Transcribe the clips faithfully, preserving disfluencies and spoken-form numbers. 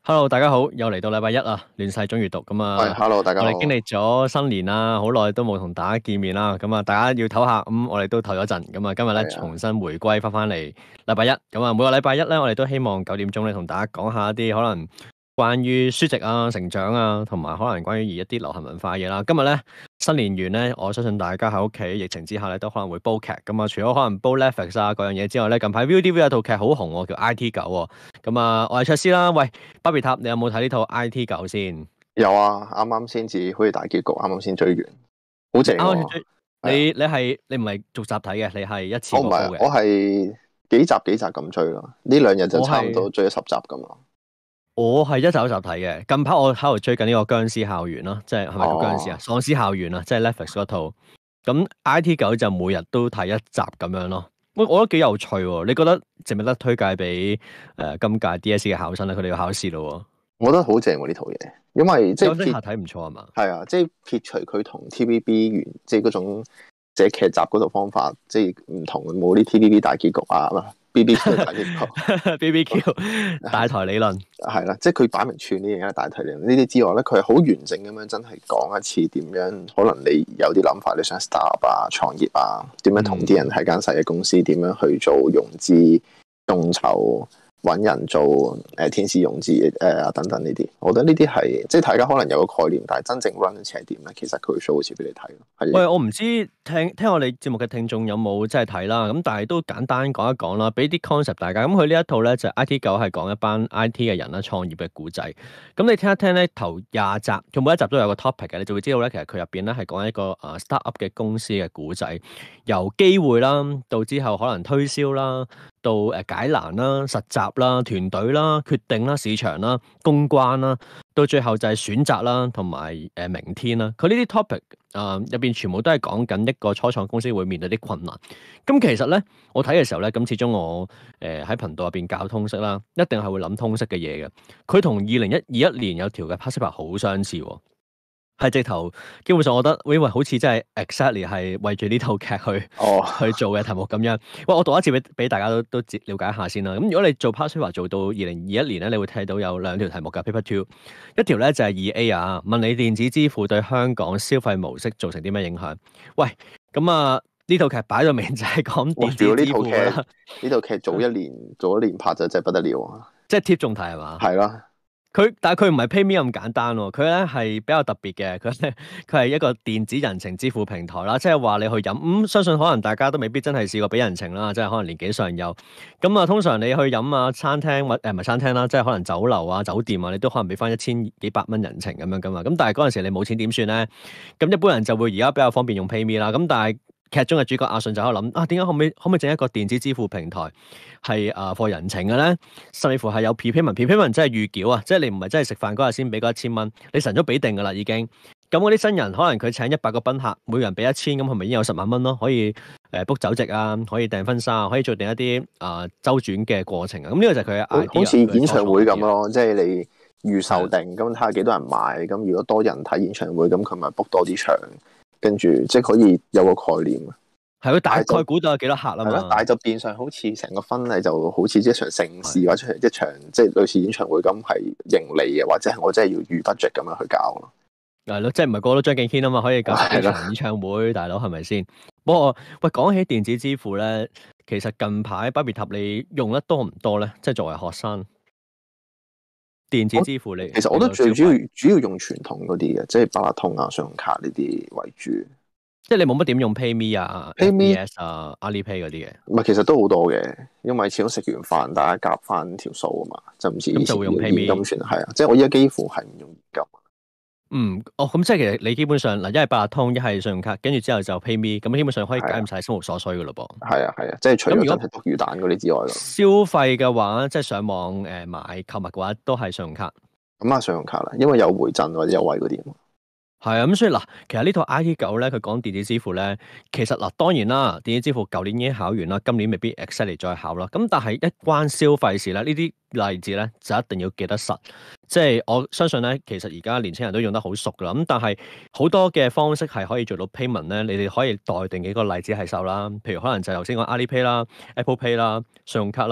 Hello，大家好，又嚟到禮拜一啊，亂世中閱讀咁啊。 喂，Hello，大家好。 我哋經歷咗新年啦，好耐都冇同大家見面啦，咁啊，大家要唞下，咁我哋都唞咗陣，咁啊，今日咧重新回歸翻翻嚟禮拜一，咁啊，每個禮拜一咧，我哋都希望九點鐘咧同大家講下一啲可能關於書籍啊、成長啊，同埋可能關於一啲流行文化嘅嘢啦。今日咧新年完咧，我相信大家喺屋企疫情之下咧都可能會煲劇，咁啊，除咗可能煲 Netflix 啊嗰樣嘢之外咧，近排 ViuTV 有套劇好紅喎，叫 I T 九喎。咁啊，我係卓斯啦。喂，巴別塔，你有冇睇呢套 I T 九先？ 有啊，啱啱先至好似大結局，啱啱先追完，好正喎。 追你你係你唔係逐集睇嘅，你係一次過煲嘅。 我唔係，我係幾集幾集咁追咯。呢兩日就差唔多追咗十集咁咯。 我係一集一集睇嘅。近排我喺度追緊呢個僵屍校園咯，即係係咪叫僵屍啊？喪屍校園啊，即係 Netflix 嗰套。咁 I T 九就每日都睇一集咁樣咯。我我覺得幾有趣喎。你覺得值唔值得推介俾誒、呃、今屆 D S E 嘅考生咧？佢哋要考試咯。 我覺得好正喎呢套嘢，因為即係撇睇唔錯係嘛？ 係啊，即係撇除佢同 T V B 原即係嗰種寫劇集嗰度方法，即係唔同冇啲 T V B 大結局啊嘛。B B Q 大結局 ，B B Q 大台理論係啦，即係佢擺明串呢樣嘢大台理論呢啲之外咧，佢係好完整咁樣真係講一次點樣，可能你有啲諗法，你想 start up 啊、創業啊，點樣同啲人喺間細嘅公司點樣去做融資、眾籌。揾人做誒、呃、天使融資誒啊等等呢啲，我覺得呢啲係即係大家可能有個概念，但係真正 run 起係點咧？其實佢會 show 好似俾你睇。 喂，我唔知聽聽我哋節目嘅聽眾有冇真係睇啦，咁但係都簡單講一講啦，俾啲 concept 大家。咁佢呢一套咧就係、I T 九係講一班 I T 嘅人啦，創業嘅故仔。咁你聽一聽咧，頭廿集，佢每一集都有個 topic 嘅，你就會知道咧，其實佢入邊咧係講一個誒 start up 嘅公司嘅故仔，由機會啦，到之後可能推銷啦。到誒解難啦、實習啦、團隊啦、決定啦、市場啦、公關啦，到最後就係選擇啦，同埋誒明天啦。佢呢啲 topic 啊入邊全部都係講緊一個初創公司會面對啲困難。咁其實咧，我睇嘅時候咧，咁始終我誒喺頻道入邊教通識啦，一定係會諗通識嘅嘢嘅。佢同二零一二一年有條嘅 Pacific 好相似喎。係直頭，基本上我覺得，喂喂，好似真係 exactly 係為住呢套劇去、oh. 去做嘅題目咁樣。喂，我讀一次俾俾大家都都了解一下先啦。咁如果你做 Passive 做到二零二一年咧，你會睇到有兩條題目㗎 Paper Two，一條咧就係二 A 啊，問你電子支付對香港消費模式造成啲咩影響？喂，咁啊呢套劇擺到明就係講電子支付啦。 呢套劇早一年早一年拍就真係不得了啊！ 即係貼中題係嘛？ 係啦。 佢但係佢唔係 PayMe 咁簡單喎，佢咧係比較特別嘅，佢咧佢係一個電子人情支付平台啦，即係話你去飲，咁、嗯、相信可能大家都未必真係試過俾人情啦，即係可能年紀上有，咁啊通常你去飲啊餐廳或誒唔係餐廳啦，即係可能酒樓啊酒店啊，你都可能俾翻一千幾百蚊人情咁樣噶嘛，咁但係嗰陣時你冇錢點算咧？咁一般人就會而家比較方便用 PayMe 啦，咁但係劇中嘅主角阿信就喺度諗啊，點解可唔可以可唔可以整一個電子支付平台係誒貨人情嘅咧？甚至乎係有 prepayment，prepayment 即係預繳啊，即係你唔係真係食飯嗰日先俾嗰一千蚊，你晨早俾定噶啦已經。咁嗰啲新人可能佢請一百個賓客，每人俾一千，咁係咪已經有十萬蚊咯？可以誒 book 酒席啊，可以訂婚紗啊，可以做定一啲啊周轉嘅過程啊。咁呢個就係佢嘅 idea， 好似演唱會咁咯，即係你預售定，咁睇下幾多人買，咁如果多人睇演唱會，咁佢咪 book 多啲場。跟住即係可以有個概念， 係佢大概估到有幾多客啊嘛？ 但係就變相好似成個婚禮就好似一場盛事或者係一場即係類似演唱會咁係盈利嘅，或者係我真係要預 budget 咁樣去搞咯。 係咯，即係唔係個個都張敬軒啊嘛，可以搞一場演唱會，大佬係咪先？不過喂，講起電子支付咧，其實近排巴別塔你用得多唔多咧？即係作為學生，電子支付你其實我都最主要主要用傳統嗰啲嘅，即係八達通啊、信用卡呢啲為主。 即係你冇乜點用 PayMe 啊、 PayMe P S 啊、Alipay 嗰啲嘅。 唔係，其實都好多嘅，因為始終食完飯大家夾翻條數啊嘛，就唔似以前就會用 PayMe 現金算係啊。即係我依家幾乎係唔用現金。 嗯，哦，咁即係其實你基本上嗱，一係八達通，一係信用卡，跟住之後就 PayMe，咁基本上可以解唔晒生活所需噶咯噃。 係啊係啊，即係除咗真係篤魚蛋嗰啲之外咯。 消費嘅話，即係上網誒買購物嘅話，都係信用卡。 咁啊，信用卡啦，因為有回贈或者優惠嗰啲。 係啊，咁所以嗱，其實呢套 I T 九咧，佢講電子支付咧，其實嗱，當然啦，電子支付舊年已經考完啦，今年未必 exactly 再考啦。咁但係一關消費事咧，呢啲例子咧就一定要記得實。即係我相信咧，其實而家年輕人都用得好熟噶啦。咁但係好多嘅方式係可以做到 payment 咧，你哋可以代定幾個例子係受啦。譬如可能就頭先講 Alipay 啦、Apple Pay 啦、信用卡啦，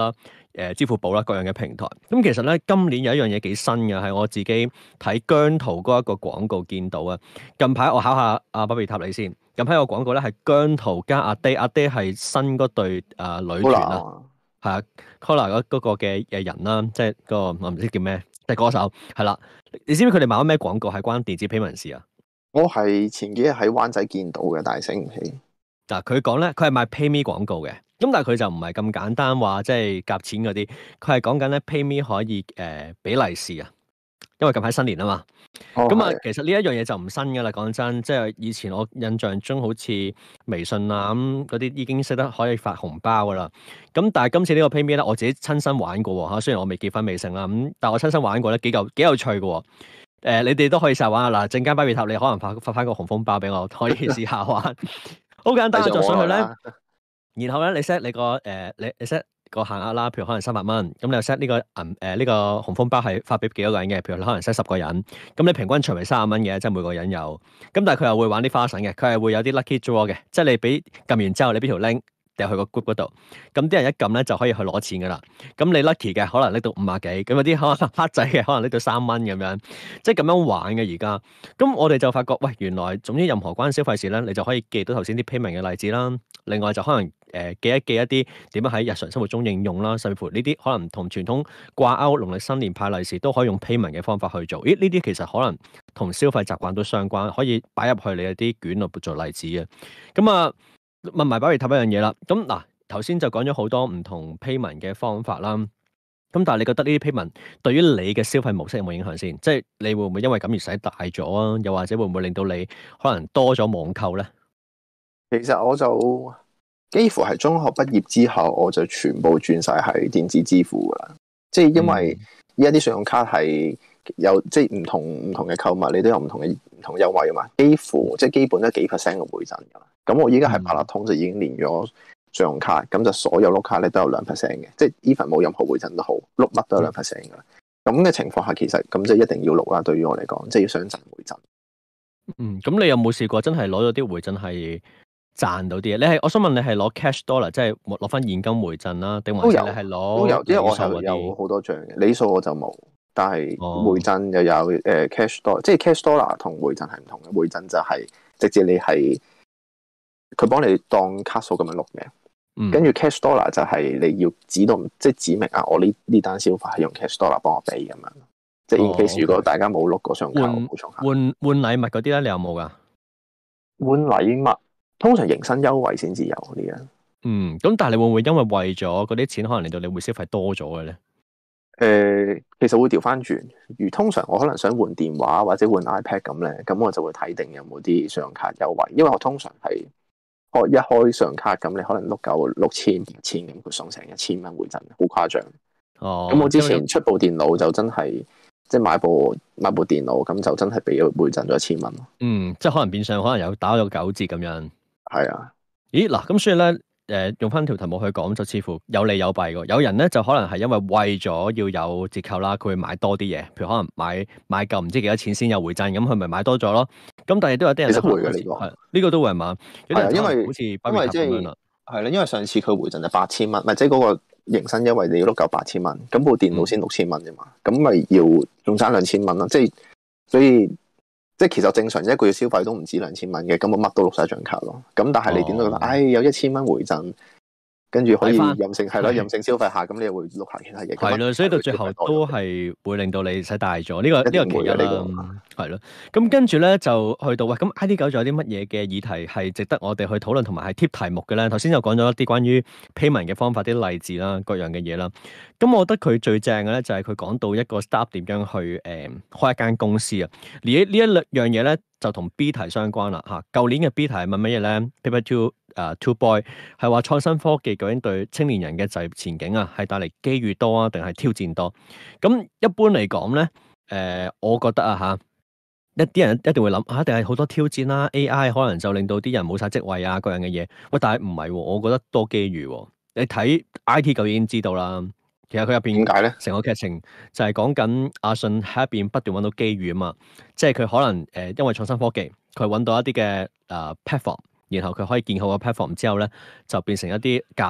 誒支付寶啦各樣嘅平台。咁其實咧今年有一樣嘢幾新嘅，係我自己睇姜濤嗰一個廣告見到啊。近排我考下阿巴比塔你先。近排個廣告咧係姜濤加阿爹，阿爹係新嗰對誒女團啦，係啊 Collar 嗰嗰個嘅誒人啦，即係個我唔知叫咩，即係歌手係啦。你知唔知佢哋買咗咩廣告係關電子 payment 事啊？ 我係前幾日喺灣仔見到嘅，但係醒唔起。嗱， 佢講咧，佢係賣 PayMe 廣告嘅，咁但係佢就唔係咁簡單話，即係夾錢嗰啲，佢係講緊咧 PayMe 可以誒俾利是啊，因為近排新年啊嘛。咁啊、哦，其實呢一樣嘢就唔新噶啦，講真，即係以前我印象中好似微信啊咁嗰啲已經識得可以發紅包噶啦。咁但係今次呢個 PayMe 咧，我自己親身玩過嚇，雖然我未結婚未成啦，咁但係我親身玩過咧，幾嚿幾有趣嘅。誒、呃，你哋都可以試下玩下嗱，陣間巴比塔你可能發發翻個紅風包俾我，可以試下玩。好簡單，就上去咧，然後咧你 set 你個誒、呃，你你 set 個限額啦，譬如可能三百蚊，咁你又 set 呢個銀誒呢個紅風包係發俾幾多個人嘅？譬如你可能 set 十個人，咁你平均除為三十蚊嘅，即係每個人有。咁但係佢又會玩啲花神嘅，佢係會有啲 lucky draw 嘅，即係你俾撳完之後，你俾條 link。掉去個 group 嗰度，咁啲人一撳咧就可以去攞錢噶啦。咁你 lucky 嘅可能拎到五啊幾，咁有啲可能黑仔嘅可能拎到三蚊咁樣，即係咁樣玩嘅而家。咁我哋就發覺，喂，原來總之任何關消費事咧，你就可以記到頭先啲 payment 嘅例子啦。另外就可能誒、呃、記一記一啲點樣喺日常生活中應用啦，甚至乎呢啲可能同傳統掛鈎農曆新年派利是都可以用 payment 嘅方法去做。咦？呢啲其實可能同消費習慣都相關，可以擺入去你一啲卷度做例子嘅。咁啊〜問埋巴比塔一樣嘢啦，咁嗱頭先就講咗好多唔同 payment 嘅方法啦，咁但係你覺得呢啲 payment 對於你嘅消費模式有冇影響先？即係你會唔會因為咁而使大咗啊？又或者會唔會令到你可能多咗網購咧？ 其實我就幾乎係中學畢業之後，我就全部轉晒係電子支付噶啦，即係因為依家啲信用卡係有即係唔同唔同嘅購物，你都有唔同嘅唔同優惠啊嘛，幾乎即係基本都幾 percent 嘅回贈噶啦。咁我依家係八達通就已經連咗信用卡，咁就所有碌卡咧都有兩 percent 嘅，即係 even 冇任何回贈都好，碌乜都有兩 percent 噶啦。咁嘅情況下，其實咁即係一定要碌啦。對於我嚟講，即係要想賺回贈。 嗯，咁你有冇試過真係攞咗啲回贈係賺到啲嘢？你係我想問你係攞 cash dollar，即係攞翻現金回贈啦，定還是你係攞都有？因為我係有好多張嘅，里數我就冇，但係回贈又有誒、呃、cash dollar，即係 cash dollar 同回贈係唔同嘅。回贈就係直接你係。佢幫你當卡數咁樣碌嘅，跟住 cash dollar 就係你要指到，即係指明啊，我呢呢單消費係用 cash dollar 幫我俾咁樣。即係 in case 如果大家冇碌過信用卡，冇錯。 換換禮物嗰啲咧，你有冇噶？ 換禮物通常迎新優惠先至有呢樣。 嗯，咁但係你會唔會因為為咗嗰啲錢，可能令到你會消費多咗嘅咧？ 誒、呃，其實會調翻轉。如通常我可能想換電話或者換 iPad 咁咧，咁我就會睇定有冇啲信用卡優惠，因為我通常係。開一開信用卡咁，你可能碌夠六千、八千咁，佢送成一千蚊回贈，好誇張。哦，咁我之前出部電腦就真係，即係買部買部電腦咁就真係俾咗回贈咗一千蚊咯。嗯， 即係可能變相可能有打咗九折咁樣。 係啊。 咦嗱，咁所以咧。誒用翻條題目去講，就似乎有利有弊喎。有人咧就可能係因為為咗要有折扣啦，佢會買多啲嘢，譬如可能買買夠唔知幾多錢先有回贈，咁佢咪買多咗咯。咁但係都有啲人其實會嘅呢個係呢個都會係嘛？有啲人因為好似因為即係係啦，因為上次佢回贈就八千蚊，咪即係嗰個迎新優惠你要碌夠八千蚊，咁部電腦先六千蚊啫嘛，咁咪要仲爭兩千蚊啦。即係所以。即係其實正常一個月消費都唔止兩千蚊嘅，咁我乜都碌晒張卡咯。咁但係你點都覺得，唉、哦哎，有一千蚊回贈，跟住可以任性係咯，任性消費下，咁你又會碌下其他嘢。係咯， 所以到最後都係會令到你使大咗。呢、這個呢、這個其一啦，係咯。咁跟住咧就去到喂，咁 I T 九仲有啲乜嘢嘅議題係值得我哋去討論同埋係貼題目嘅咧？頭先就講咗一啲關於 payment 嘅方法、啲例子啦，各樣嘅嘢啦。咁我覺得佢最正嘅咧就係佢講到一個 startup 點樣去誒、呃、開一間公司啊。而呢一樣嘢咧就同 B 題相關啦嚇。舊年嘅 B 題係問乜嘢咧 ？Paper Two 誒 Two Boy 係話創新科技究竟對青年人嘅就業前景啊係帶嚟機遇多啊定係挑戰多？咁一般嚟講咧誒，我覺得啊嚇，一啲人一定會諗嚇，一定係好多挑戰啦。A I 可能就令到啲人冇晒職位啊，各樣嘅嘢。喂，但係唔係喎，我覺得多機遇喎。你睇 I T 九已經知道啦。其實佢入邊點解咧？ 成個劇情就係講緊阿信喺入邊不斷揾到機遇啊嘛，即係佢可能誒、呃、因為創新科技，佢揾到一啲嘅誒 platform，然後佢可以建好個 platform 之後咧，就變成一啲價值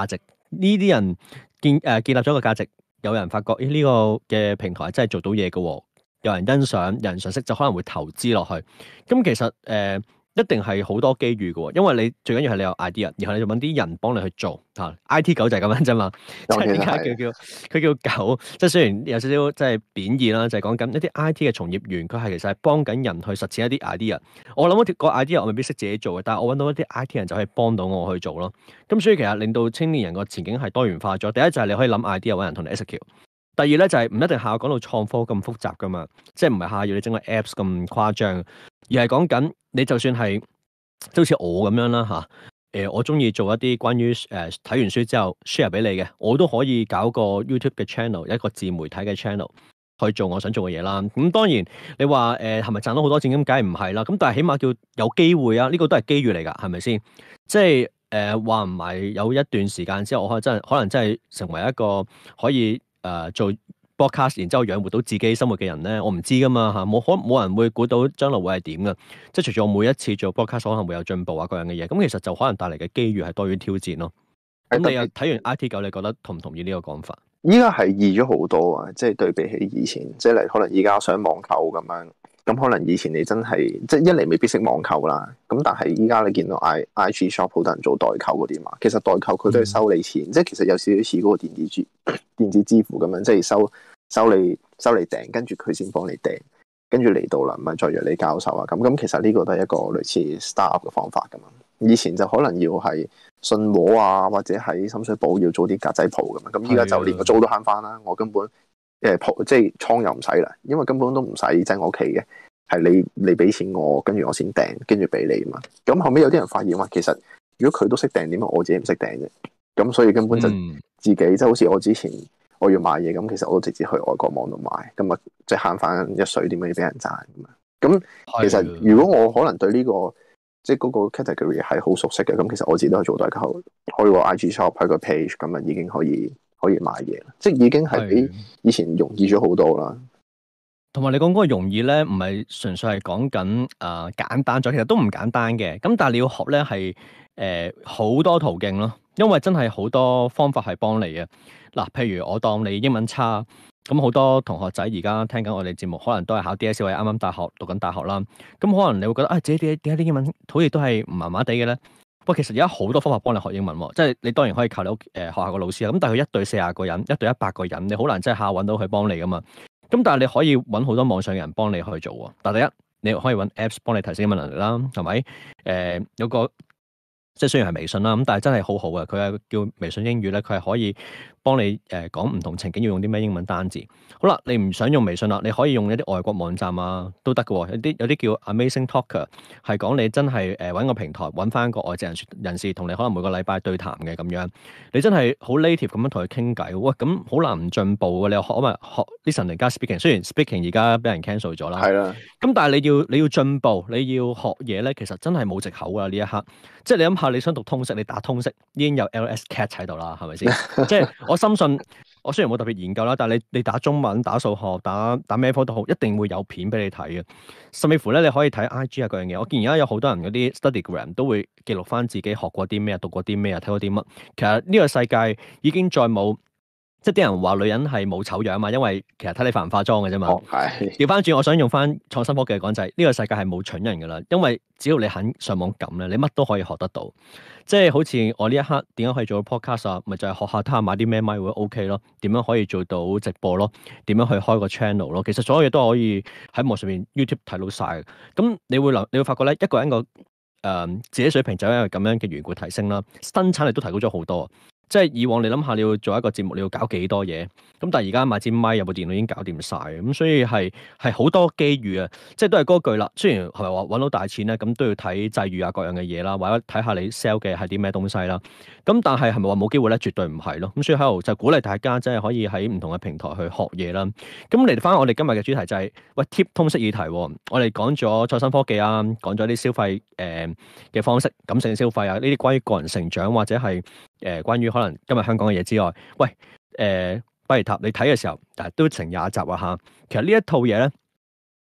呢啲人建誒、呃、建立咗個價值，有人發覺呢、呢個嘅平台真係做到嘢嘅喎，有人欣賞，有人賞識，就可能會投資落去。咁其實誒。呃一定係好多機遇嘅喎，因為你最緊要係你有 idea，然後你就揾啲人幫你去做嚇。I T 狗就係咁樣啫嘛，即係點解佢叫佢叫狗？即係雖然有少少即係貶義啦，就係講緊一啲 I T 嘅從業員，佢係其實係幫緊人去實踐一啲 idea。我諗嗰個 idea 我未必識自己做嘅，但係我揾到一啲 I T 人就可以幫到我去做咯。咁所以其實令到青年人個前景係多元化咗。第一就係你可以諗 idea 揾人同你 execute。第二咧就係唔一定下下講到創科咁複雜噶嘛，即係唔係下下要你整個 apps 咁誇張，而係講緊你就算係即好似我咁樣啦嚇，誒、呃、我中意做一啲關於誒睇完書之後 share 俾你嘅，我都可以搞個 YouTube 嘅 channel， 一個自媒體嘅 channel 去做我想做嘅嘢啦。咁、嗯、當然你話誒係咪賺到好多錢咁，梗係唔係啦。咁但係起碼叫有機會啊，呢、這個都係機遇嚟㗎，係咪先？即係誒話唔埋有一段時間之後，我可能真係可能真係成為一個可以。誒、呃、做 broadcast 然之後養活到自己生活嘅人咧，我唔知噶嘛嚇，冇可冇人會估到將來會係點噶。即係隨住我每一次做 broadcast 可能會有進步啊，各樣嘅嘢，咁其實就可能帶嚟嘅機遇係多於挑戰咯。咁你又睇完 I T 九，你覺得同唔同意呢個講法？ 依家係易咗好多啊！即係對比起以前，即係嚟可能依家上網購咁樣，咁可能以前你真係即係一嚟未必識網購啦，咁但係依家你見到 I I G shop 好多人做代購嗰啲嘛，其實代購佢都係收你錢，嗯、即係其實有少少似嗰個電子支電子支付咁樣，即係收收你收你訂，跟住佢先幫你訂，跟住嚟到啦，咪再約你交收啊咁。咁其實呢個都係一個類似 startup 嘅方法噶嘛。以前就可能要係信和啊，或者喺深水埗要做啲格仔鋪咁樣，咁依家就連個租都慳翻啦。我根本誒鋪即係倉又唔使啦，因為根本都唔使擠我屋企嘅，係你你俾錢我，跟住我先訂，跟住俾你嘛。咁後尾有啲人發現話，其實如果佢都識訂，點解我自己唔識訂啫？咁所以根本就自己、嗯、即係好似我之前我要買嘢咁，其實我都直接去外國網度買，咁啊即係慳翻一水，點解要俾人賺咁啊？咁其實如果我可能對呢、這個即係嗰個 category 係好熟悉嘅，咁其實我自己都係做代購，開個 I G shop，開個 page，咁啊已經可以可以買嘢啦，即係已經係比以前容易咗好多啦。 同埋你講嗰個容易咧，唔係純粹係講緊誒簡單咗，其實都唔簡單嘅。咁但係你要學咧係誒好多途徑咯，因為真係好多方法係幫你嘅。嗱，譬如我當你英文差。咁好多同學仔而家聽緊我哋節目，可能都係考 D S E 或者啱啱大學讀緊大學啦。咁可能你會覺得啊，自己點點解啲英文好似都係麻麻地嘅咧？喂，其實而家好多方法幫你學英文喎，即係你當然可以靠你屋誒、呃、學校個老師啦。咁但係佢一對四十個人，一對一百個人，你好難真係下揾到佢幫你噶嘛。咁但係你可以揾好多網上嘅人幫你去做喎。但係第一，你可以揾 Apps 幫你提升英文能力啦，係咪？誒、呃、有個即係雖然係微信啦，咁但係真係好好嘅，佢係叫微信英語咧，佢係可以幫你誒講唔同情景要用啲咩英文單字。好啦，你唔想用微信啦，你可以用一啲外國網站啊，都得嘅喎。有啲有啲叫 Amazing Talker，係講你真係誒揾個平台揾翻個外籍人人士同你可能每個禮拜對談嘅咁樣。你真係好 native 咁樣同佢傾偈，喂，咁好難唔進步嘅。你又學咪學 listening 加 speaking，雖然 speaking 而家俾人 cancel 咗啦，係啦。咁但係你要你要進步，你要學嘢咧，其實真係冇藉口㗎呢一刻。即係你諗下，你想讀通識，你打通識已經有 L S Cat 喺度啦，係咪先？即係我深信。我雖然冇特別研究啦，但係你你打中文、打數學、打打咩科都好，一定會有片俾你睇嘅。甚至乎咧，你可以睇 I G 啊嗰樣嘢。我見而家有好多人嗰啲 Studygram 都會記錄翻自己學過啲咩、讀過啲咩、睇過啲乜。其實呢個世界已經再冇，即係啲人話女人係冇醜樣嘛，因為其實睇你化唔化妝嘅啫嘛。係調翻轉，我想用翻創新科技嘅講就係呢個世界係冇蠢人噶啦，因為只要你肯上網撳咧，你乜都可以學得到。即係好似我呢一刻點樣可以做到 podcast 啊？咪就係、是、學下睇下買啲咩咪會 OK 咯，點樣可以做到直播咯？點樣去開個 channel 咯？其實所有嘢都可以喺網上面 YouTube 睇到晒嘅。咁你會留，你會發覺咧，一個人個誒、呃、自己水平就因為咁樣嘅緣故提升啦，生產力都提高咗好多。即係以往你諗下，你要做一個節目，你要搞幾多嘢？咁但係而家買支咪有部電腦已經搞掂晒，咁所以係係好多機遇啊！即係都係嗰句啦。雖然係咪話揾到大錢咧，咁都要睇際遇啊，各樣嘅嘢啦，或者睇下你 sell 嘅係啲咩東西啦。咁但係係咪話冇機會咧？絕對唔係咯。咁所以喺度就鼓勵大家，即係可以喺唔同嘅平台去學嘢啦。咁嚟翻我哋今日嘅主題就係、是、喂 Tip 通識議題。我哋講咗創新科技啊，講咗啲消費誒嘅方式，感性消費啊，呢啲關於個人成長或者係。誒、呃，關於可能今日香港嘅嘢之外，喂，誒、呃，巴別塔，你睇嘅時候，但係都成廿集啊嚇。其實呢一套嘢咧，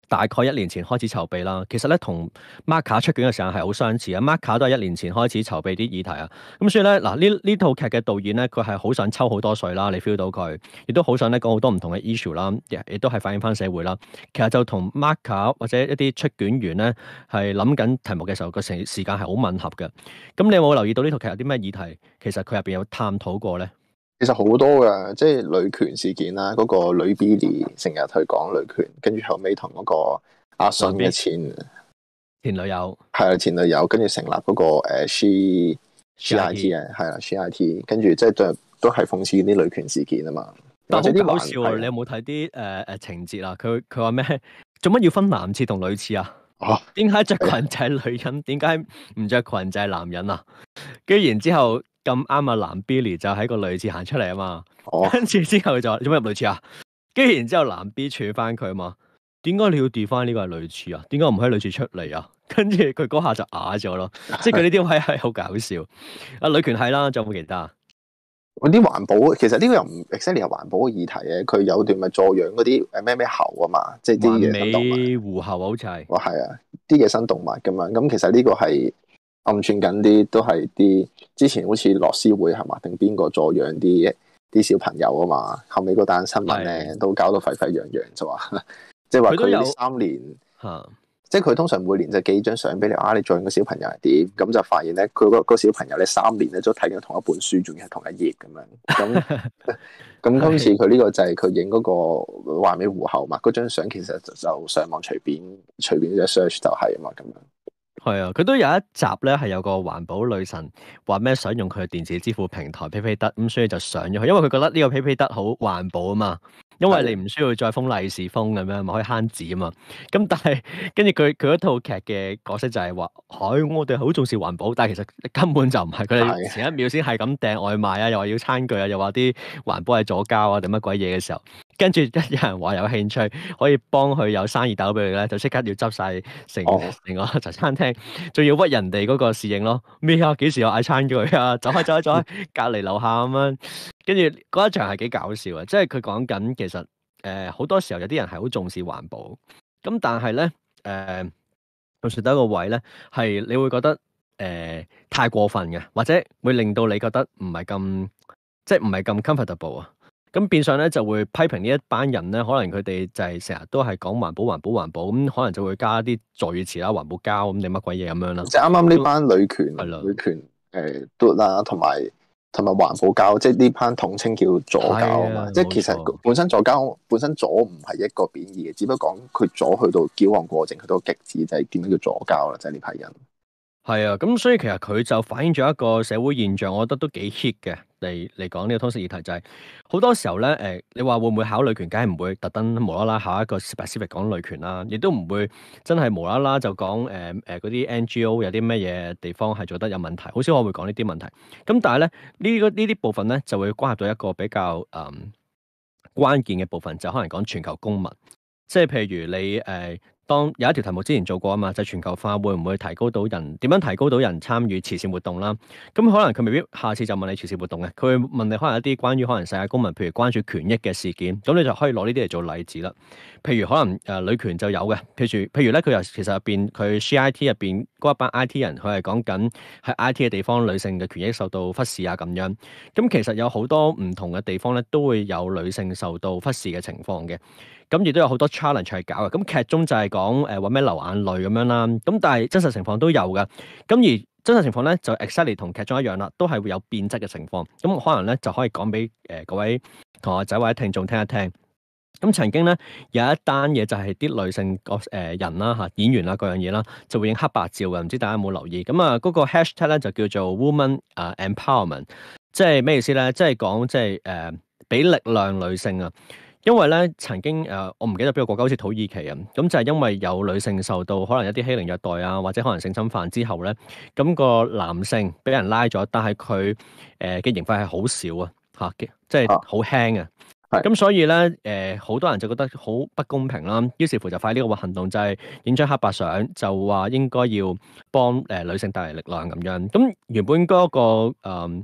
大概一年前開始籌備啦，其實咧同 Marka 出卷嘅時間係好相似啊。Marka 都係一年前開始籌備啲議題啊。咁所以咧嗱，呢呢套劇嘅導演咧，佢係好想抽好多水啦，你 feel 到佢，亦都好想咧講好多唔同嘅 issue 啦，亦都係反映翻社會啦。其實就同 Marka 或者一啲出卷員咧係諗緊題目嘅時候，個時時間係好吻合嘅。咁你有冇留意到呢套劇有啲咩議題？其實佢入邊有探討過咧？ 其實好多噶，即係女權事件啦，嗰、那個女 Billy 成日去講女權，跟住後尾同嗰個阿信嘅前前女友係啊前女友，跟住成立嗰、那個誒、uh, She She I T 啊，係啦 She I T， 跟住即係都都係諷刺啲女權事件啊嘛。 但係好搞笑啊！你有冇睇啲誒誒情節啊？佢佢話咩？做乜要分男廁同女廁啊？點解着裙就係女人？點解唔着裙就係男人啊？跟住然之後。咁啱啊！男 Billy 就喺個女廁行出嚟啊嘛，跟住、oh. 之後就話做咩入女廁啊？跟住然之後男 B 處翻佢啊嘛，點解你要 define 呢個係女廁啊？點解唔喺女廁出嚟啊？跟住佢嗰下就啞咗咯，即係佢呢啲位係好搞笑。啊，女權係啦，仲有冇其他？ 嗰啲環保其實呢個又唔 exactly 係環保嘅議題嘅，佢有段咪助養嗰啲誒咩咩猴啊嘛，即係啲野生動物。環美狐猴好似係。 哦，係啊，啲野生動物咁樣，咁其實呢個係。暗串緊啲都係啲之前好似樂施會係嘛，定邊個助養啲啲小朋友啊嘛，後尾嗰單新聞咧都搞到沸沸揚揚，就話即係話佢呢三年吓，即係佢通常每年就寄張相俾你啊，你助養個小朋友係點，咁就發現咧佢個個小朋友咧三年咧都睇緊同一本書，仲要係同一頁咁樣，咁咁今次佢呢個就係佢影嗰個環美狐猴嘛，嗰張相其實就就上網隨便隨便一 search 就係啊嘛咁樣。 係啊，佢都有一集咧，係有個環保女神話咩想用佢嘅電子支付平台 PayPay 咁，所以就上咗去，因為佢覺得呢個 PayPay 好環保啊嘛，因為你唔需要再封利是封咁樣，咪可以慳紙啊嘛。咁但係跟住佢佢嗰套劇嘅角色就係話，唉，我哋好重視環保，但係其實根本就唔係，佢哋前一秒先係咁訂外賣啊，又話要餐具啊，又話啲環保係左膠啊定乜鬼嘢嘅時候。跟住一有人話有興趣可以幫佢有生意豆俾佢咧，就即刻要執晒成成個茶餐廳，仲要屈人哋嗰個侍應咯。咩啊？幾時有嗌餐具啊？走開走開走開，隔離樓下咁樣。跟住嗰一場係幾搞笑啊！即係佢講緊其實誒好、呃、多時候有啲人係好重視環保，咁但係咧誒，到時得一個位咧係你會覺得誒、呃、太過分嘅，或者會令到你覺得唔係咁即係唔係咁 comfortable 啊。咁變相咧就會批評呢一班人咧，可能佢哋就係成日都係講環保、環保、環保，咁可能就會加啲助語詞啦，環保膠咁定乜鬼嘢咁樣啦。即係啱啱呢班女權、嗯、女權誒嘟啦，同埋同埋環保膠，即係呢班統稱叫左膠啊嘛。的即係其實本身左膠本身左唔係一個貶義嘅，只不過講佢左去到矯枉過正，去到極致就係點樣叫左膠啦，就係呢批人。係啊，咁所以其實佢就反映咗一個社會現象，我覺得都幾 hit 嘅嚟嚟講呢個通識議題就係、是、好多時候咧，誒、呃，你話會唔會考女權？梗係唔會特登無啦啦考一個 specific 講女權啦，亦都唔會真係無啦啦就講誒誒嗰啲 N G O 有啲咩嘢地方係做得有問題，好少我會講呢啲問題。咁但係咧呢個呢啲部分咧就會關係到一個比較誒、嗯、關鍵嘅部分，就可能講全球公民，即係譬如你誒。呃當有一條題目之前做過啊嘛，就係、全球化會唔會提高到人點樣提高到人參與慈善活動啦？咁可能佢未必下次就問你慈善活動嘅，佢會問你可能一啲關於可能世界公民，譬如關注權益嘅事件，咁你就可以攞呢啲嚟做例子啦。譬如可能誒、呃、女權就有嘅，譬如譬如咧佢又其實入邊佢 C I T 入邊嗰一班 I T 人，佢係講緊喺 I T 嘅地方女性嘅權益受到忽視啊咁樣。咁其實有好多唔同嘅地方咧，都會有女性受到忽視嘅情況嘅。咁亦都有好多 challenge 係搞嘅，咁劇中就係講誒話咩流眼淚咁樣啦，咁但係真實情況都有嘅，咁而真實情況咧就 exactly 同劇中一樣啦，都係會有變質嘅情況，咁可能咧就可以講俾誒各位同學仔或者聽眾聽一聽。咁曾經咧有一單嘢就係啲女性個誒人啦嚇演員啦各樣嘢啦，就會影黑白照嘅，唔知大家有冇留意？咁啊嗰個 hashtag 咧就叫做 woman 啊 empowerment，即係咩意思咧？即係講即係誒俾力量女性啊！因為咧曾經誒、呃，我唔記得邊個國家好似土耳其啊，咁就係因為有女性受到可能一啲欺凌虐待啊，或者可能性侵犯之後咧，咁、那個男性俾人拉咗，但係佢誒嘅刑罰係好少啊，嚇嘅，即係好輕啊。咁所以咧誒，好、呃、多人就覺得好不公平啦，於是乎就快呢個行動就係影張黑白相，就話應該要幫誒、呃、女性帶嚟力量咁樣。咁原本嗰、那個誒。呃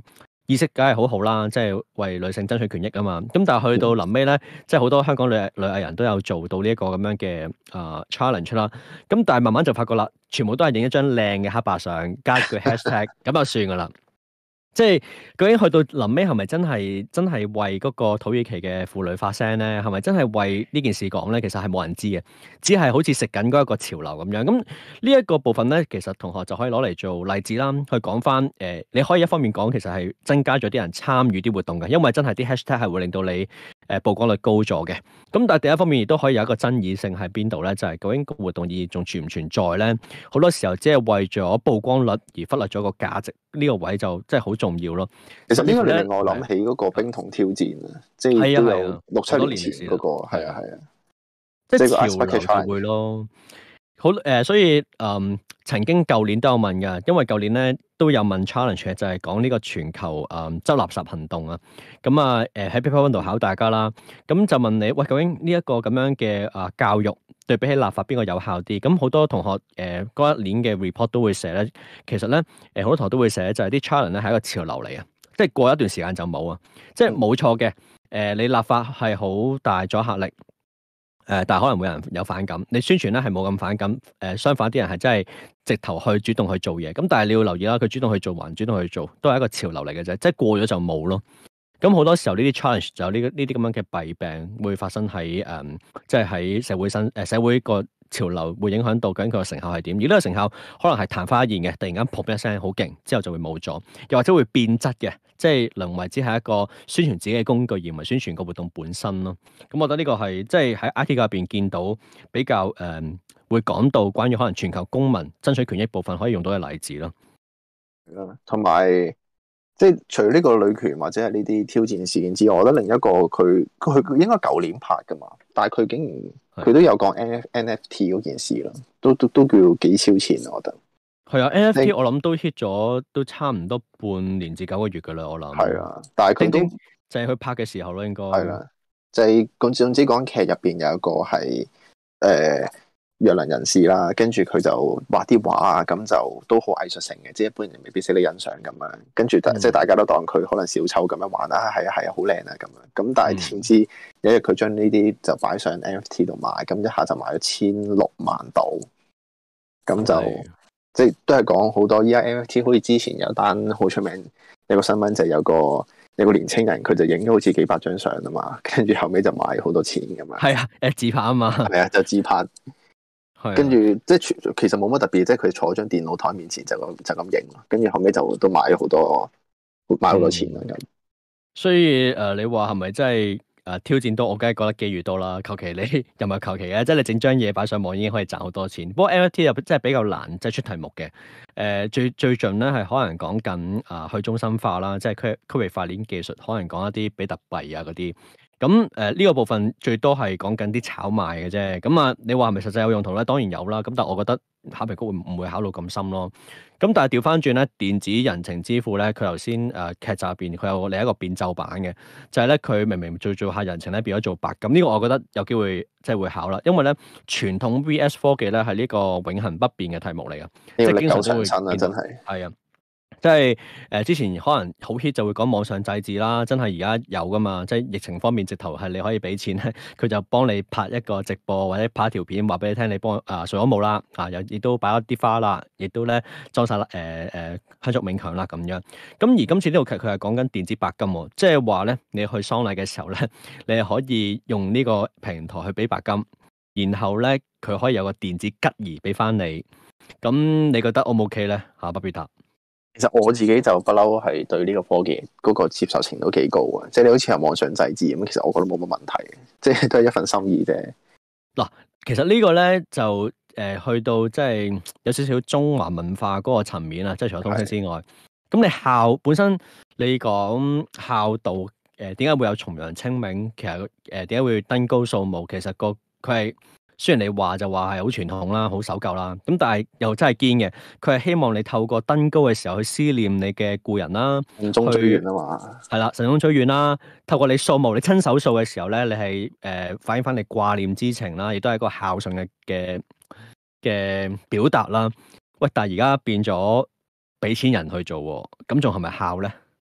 意識梗係好好啦，即係為女性爭取權益啊嘛。咁但係去到臨尾咧，即係好多香港女女藝人都有做到呢一個咁樣嘅啊、呃、challenge 啦。咁但係慢慢就發覺啦，全部都係影一張靚嘅黑白相，加句 hashtag 咁就算噶啦。即係究竟去到臨尾係咪真係真係為嗰個土耳其嘅婦女發聲咧？係咪真係為呢件事講咧？其實係冇人知嘅，只係好似食緊嗰一個潮流咁樣。咁呢一個部分咧，其實同學就可以攞嚟做例子啦，去講翻誒，你可以一方面講其實係增加咗啲人參與啲活動嘅，因為真係啲 hashtag 係會令到你誒、呃、曝光率高咗嘅。咁但係第一方面亦都可以有一個爭議性喺邊度咧？就係、是、究竟個活動意義仲存唔存在咧？好多時候只係為咗曝光率而忽略咗個價值，呢、這個位就真係好重要咯。 其實呢個令我諗起嗰個冰桶挑戰啊，即係都有六七年前嗰、那個，係啊係啊， 即係潮流就會咯。好誒、呃，所以誒、嗯、曾經舊年都有問㗎，因為舊年咧都有問 challenge 就係講呢個全球誒、嗯、執垃圾行動啊。咁啊誒喺 paper one 度考大家啦，咁就問你喂，究竟呢一個咁樣嘅啊教育對比起立法邊個有效啲？咁好多同學誒嗰、呃、一年嘅 report 都會寫咧，其實咧誒好多同學都會寫就係啲 challenge 咧係一個潮流嚟啊，即係過一段時間就冇啊，即係冇錯嘅誒，你立法係好大阻嚇力。誒、呃，但係可能會有人有反感。你宣傳咧係冇咁反感。誒、呃，相反啲人係真係直頭去主動去做嘢。咁但係你要留意啦，佢主動去做還主動去做，都係一個潮流嚟嘅啫。即係過咗就冇咯。咁好多時候呢啲 challenge 就有呢呢啲咁樣嘅弊病會發生喺誒、嗯，即係喺社會新誒社會個潮流會影響到究竟佢個成效係點。而呢個成效可能係曇花一現嘅，突然間噗一聲好勁，之後就會冇咗，又或者會變質嘅，即係淪為只係一個宣傳自己嘅工具，而唔係宣傳個活動本身咯。咁我覺得呢個係即係喺 I T 界入邊見到比較誒、嗯、會講到關於可能全球公民爭取權益部分可以用到嘅例子咯。 同埋。即係除咗呢個女權或者係呢啲挑戰事件之外，我覺得另一個佢佢應該舊年拍噶嘛，但係佢竟然佢都有講 N F T 嗰件事咯，都都都叫幾超前，我覺得係啊 N F T 我諗都 hit 咗都差唔多半年至九個月噶啦，我諗係啊，但係佢都就係佢拍嘅時候咯，應該係啦，就係總總之講劇入邊有一個係誒。呃弱能人士啦，跟住佢就畫啲畫啊，咁就都好藝術性嘅，即係一般人未必識得欣賞咁樣。跟住、嗯、即係大家都當佢可能小丑咁樣玩啊，係啊係啊，好靚啊咁樣。咁但係點知有一日佢將呢啲就擺上 N F T 度賣，咁一下就賣咗千六萬度。咁就、嗯、即係都係講好多。依家 N F T 好似之前有單好出名有個新聞，就係有個有個年青人佢就影咗好似幾百張相啊嘛，跟住後尾就賣好多錢咁樣。係啊，誒自拍啊嘛， 係啊，就自拍。跟住即係其實冇乜特別，即係佢坐喺張電腦台面前就咁就咁影，跟住後尾就都買咗好多買好多錢啦咁、嗯。所以誒、呃，你話係咪真係誒挑戰多？我梗係覺得機遇多啦。求其你又唔係求其嘅，即係你整張嘢擺上網已經可以賺好多錢。不過 N F T 又真係比較難，即係出題目嘅。誒、呃、最最近咧係可能講緊啊去中心化啦，即係區區域塊鏈技術，可能講一啲比特幣啊嗰啲。咁誒呢個部分最多係講緊啲炒賣嘅啫，咁啊你話係咪實際有用途咧？當然有啦，咁但係我覺得考評局會唔會考慮咁深咯？咁但係調翻轉咧，電子人情支付咧，佢頭先誒劇集入邊佢有另一個變奏版嘅，就係咧佢明明做做下人情咧變咗做白金，呢個我覺得有機會即係會考啦，因為咧傳統 V S 科技咧係呢個永恆不變嘅題目嚟嘅，即係經常都會見到，係啊。即係誒、呃，之前可能好 hit 就會講網上祭祀啦，真係而家有噶嘛？即係疫情方面，直頭係你可以俾錢咧，佢就幫你拍一個直播或者拍一條片，話俾你聽，你幫啊掃咗墓啦，啊又亦都擺咗啲花啦，亦都咧裝晒啦誒誒香燭冥鏹啦咁樣。咁而今次呢套劇佢係講緊電子白金喎，即係話咧你去喪禮嘅時候咧，你係可以用呢個平台去俾白金，然後咧佢可以有個電子吉儀俾翻你。咁你覺得 O 唔 OK 咧？嚇，不必答。 其實我自己就不嬲係對呢個科技嗰個接受程度幾高啊，即係你好似係網上祭祀咁，其實我覺得冇乜問題，即係都係一份心意啫。嗱， 其實呢個咧就誒、呃、去到即係有少少中華文化嗰個層面啊，即係除咗通識之外，咁你孝本身你講孝道誒點解會有重陽清明？其實誒點解會登高掃墓？其實個佢係。雖然你話就話係好傳統啦，好守舊啦，咁但係又真係堅嘅。佢係希望你透過登高嘅時候去思念你嘅故人啦， 慎終追遠啊嘛。 係啦，慎終追遠啦。透過你掃墓，你親手掃嘅時候咧，你係誒、呃、反映翻你掛念之情啦，亦都係一個孝順嘅嘅嘅表達啦。喂，但係而家變咗俾錢人去做，咁仲係咪孝咧？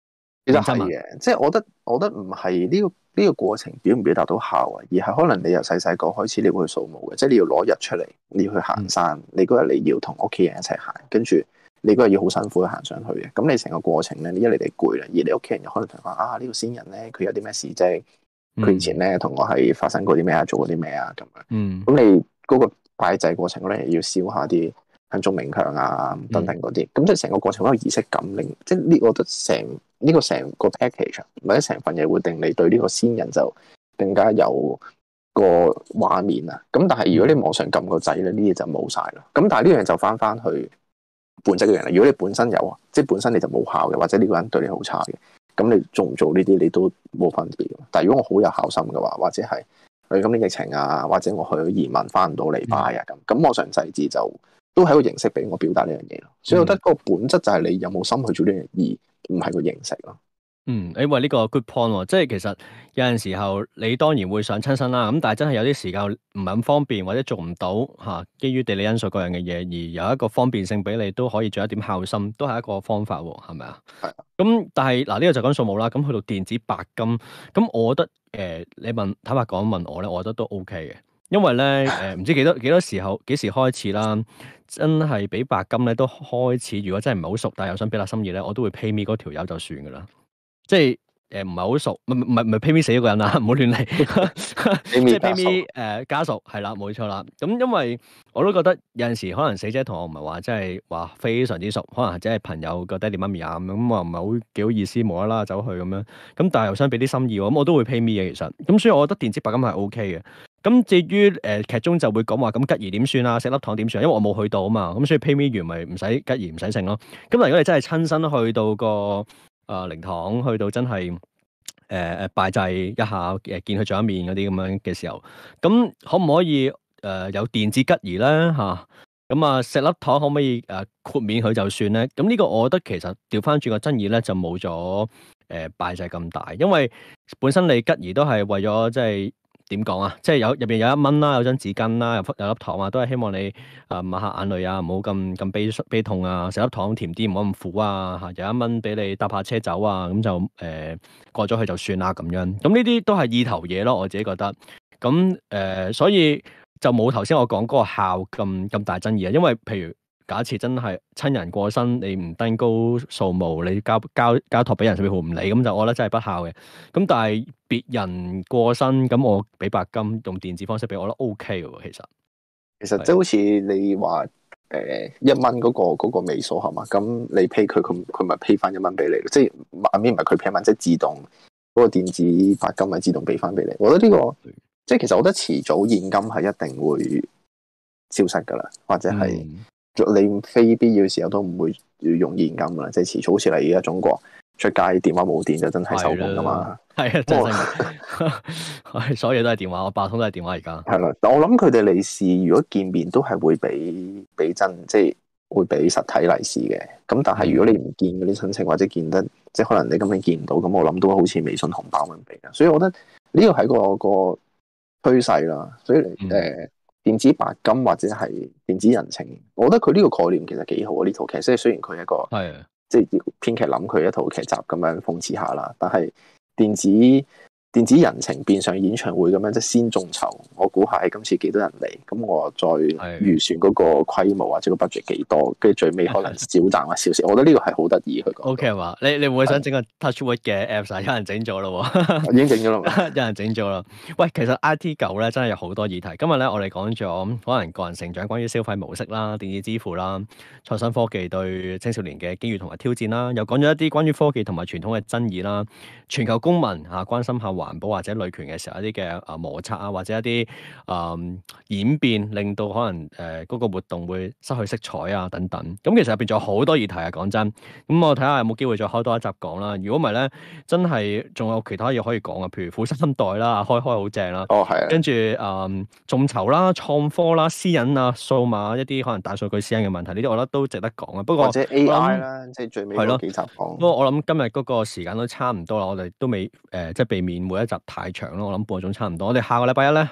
其實係嘅，即係我覺得，我覺得唔係呢個呢個過程表唔表達到效啊，而係可能你由細細個開始你會去掃墓嘅，即係你要攞日出嚟，你要去行山，你嗰日你要同屋企人一齊行，跟住你嗰日要好辛苦去行上去嘅，咁你成個過程咧，你一嚟你攰啦，二你屋企人又可能同你講啊呢個先人咧，佢有啲咩事啫，佢以前咧同我係發生過啲咩啊，做過啲咩啊咁樣，嗯，咁你嗰個拜祭過程咧，要燒下啲香燭冥鏹啊等等嗰啲，咁、嗯、即係成個過程好有儀式感，令即係呢，我覺得成。呢個成個 package 或者成份嘢會令你對呢個先人就更加有個畫面啊！咁但係如果你網上撳個掣咧，呢嘢就冇晒啦。咁但係呢樣就翻翻去本質嘅人啦。如果你本身有啊，即係本身你就冇效嘅，或者呢個人對你好差嘅，咁你做唔做呢啲你都冇分別。但係如果我好有孝心嘅話，或者係佢今年疫情啊，或者我去移民翻唔到嚟拜啊咁，咁網上祭祀就都係一個形式俾我表達呢樣嘢咯。所以我覺得個本質就係你有冇心去做呢樣嘢，而唔係個形式咯。 嗯，你話呢個 good point 喎，即係其實有陣時候你當然會想親身啦，咁但係真係有啲時間唔係咁方便或者做唔到嚇，基於地理因素各樣嘅嘢，而有一個方便性俾你都可以做一點孝心，都係一個方法喎，係咪啊？係。咁但係嗱呢個就講數目啦，咁去到電子白金，咁我覺得誒、呃、你問坦白講問我咧，我覺得都 OK 嘅，因為咧誒唔知幾多幾多時候幾時開始啦，真係俾白金咧都開始，如果真係唔係好熟，但係又想表達心意咧，我都會 pay me 嗰條友就算噶啦。即係誒唔係好熟，唔唔唔係唔係 pay me 死一個人啊，唔好亂嚟，即係 pay me 誒家屬係啦，冇錯啦。咁因為我都覺得有陣時可能死者同我唔係話真係話非常之熟，可能只係朋友個爹哋媽咪啊咁，咁我唔係好幾好意思無啦啦走去咁樣。咁但係又想俾啲心意喎，咁我都會 pay me 嘅其實。咁所以我覺得電子白金係 OK 嘅。咁至於誒、呃、劇中就會講話咁吉儀點算啊，食粒糖點算？因為我冇去到啊嘛，咁所以 pay me 完咪唔使吉儀唔使剩咯。咁但如果你真係親身去到個啊！靈堂去到真係誒誒拜祭一下，誒見佢最後一面嗰啲咁樣嘅時候，咁可唔可以誒、呃、有電子吉儀咧嚇？咁啊食粒糖可唔可以誒、呃、豁免佢就算咧？咁呢個我覺得其實調翻轉個爭議咧就冇咗誒拜祭咁大，因為本身你吉儀都係為咗即係。點講啊？即係有入邊有一蚊啦，有張紙巾啦，有有粒糖啊，都係希望你啊抹下眼淚啊，唔好咁咁悲悲痛啊，食粒糖甜啲，唔好咁苦啊嚇，有一蚊俾你搭下車走啊，咁就誒、呃、過咗去就算啦咁樣。咁呢啲都係意頭嘢咯，我自己覺得。咁誒、呃，所以就冇頭先我講嗰個孝咁咁大爭議啊，因為譬如。假設真係親人過身，你唔登高掃墓，你交交交託俾人，甚至乎唔理，咁就我覺得真係不孝嘅。咁但係別人過身，咁我俾白金用電子方式俾我，我覺得 OK 嘅喎。其實其實即係好似你話誒、呃、一蚊嗰、嗰個嗰、嗰個尾數係嘛？咁你 pay 佢，佢佢咪 pay 翻一蚊俾你？即係阿邊唔係佢 pay 一蚊，即係自動嗰、嗰個電子白金咪自動俾翻俾你。我覺得呢、呢個即係其實我覺得遲早現金係一定會消失㗎啦，或者係。嗯你非必要嘅時候都唔會要用現金噶啦，即係遲早好似嚟而家中國出街電話冇電就真係收工噶嘛。係啊，真係，所有嘢都係電話，我八通都係電話而家。係啦，但我諗佢哋利是如果見面都係會俾俾真，即係會俾實體利是嘅。咁但係如果你唔見嗰啲親戚或者見得，即係可能你根本見唔到，咁我諗都好似微信紅包咁俾嘅。所以我覺得呢個係個個趨勢啦。所以誒。嗯呃電子白金或者係電子人情，我覺得佢呢個概念其實幾好啊！呢套劇即係雖然佢係一個係的即係編劇諗佢一套劇集咁樣諷刺下啦，但係電子電子人情變相演唱會咁樣即係先眾籌，我估下係今次幾多人嚟，咁我再預算嗰個規模或者個 budget 幾多，跟住最尾可能少賺或少少，我覺得呢個係好得意佢講。O K 嘛？你你會唔會想整個 Touchwood 嘅 Apps 啊？有人整咗咯，已經整咗啦，有人整咗啦。喂，其實 I T 九咧真係有好多議題。今日咧我哋講咗可能個人成長，關於消費模式啦、電子支付啦、創新科技對青少年嘅機遇同埋挑戰啦，又講咗一啲關於科技同埋傳統嘅爭議啦，全球公民嚇關心下環保或者女權嘅時候一啲嘅啊摩擦啊，或者一啲啊、呃、演變，令到可能誒嗰、呃那個活動會失去色彩啊等等。咁其實入邊仲有好多議題啊，講真。咁我睇下有冇機會再開多一集講啦。如果唔係咧，真係仲有其他嘢可以講啊，譬如富三代啦，開開好正啦。哦，係啊。跟住誒眾籌啦、創科啦、私隱啊、數碼一啲可能大數據私隱嘅問題，呢啲我覺得都值得講啊。不過或者 A I 啦，即係最尾嗰幾集講。不過我諗今日嗰個時間都差唔多啦，我哋都未誒、呃、即係避免每一集太長咯。我諗半個鐘差唔多。我哋下個禮拜一咧嚇。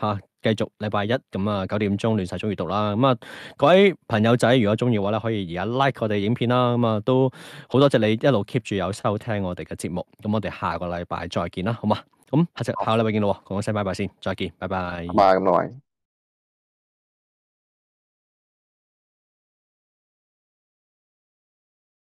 繼續禮拜一咁啊九點鐘亂世中閱讀啦。咁啊各位朋友仔，如果中意嘅話咧，可以而家 like 我哋影片啦。咁啊都好多謝你一路 keep 住有收聽我哋嘅節目。咁我哋下個禮拜再見啦，好嘛？咁下隻下個禮拜見咯，講聲拜拜先，再見，拜拜。 拜拜咁多位。